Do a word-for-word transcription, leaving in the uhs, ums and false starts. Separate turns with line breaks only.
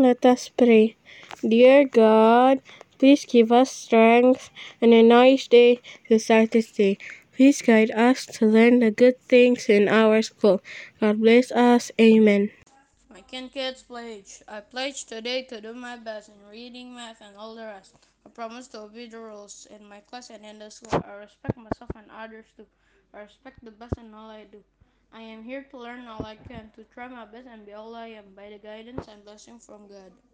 Let us pray. Dear God, please give us strength and a nice day to start this day. Please guide us to learn the good things in our school. God bless us. Amen.
My Kin Kids pledge. I pledge today to do my best in reading, math, and all the rest. I promise to obey the rules in my class and in the school. I respect myself and others too. I respect the best in all I do. I am here to learn all I can, to try my best and be all I am by the guidance and blessing from God.